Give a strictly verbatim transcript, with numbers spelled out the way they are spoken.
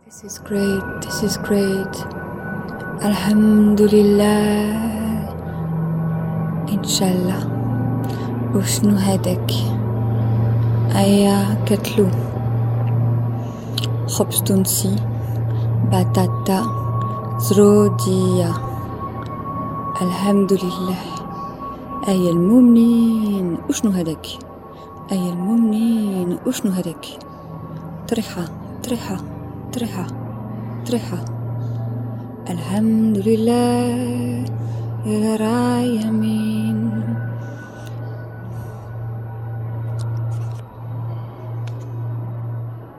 This is great, this is great. Alhamdulillah. Inshallah. وشنو هداك؟ أيا كتلو خبز تونسي بطاطا زرودية. الحمد لله. أيا المؤمنين وشنو هداك؟ أيا المؤمنين وشنو هداك؟ طريحة طريحة طريحة طريحة. الحمد لله يا رايمين.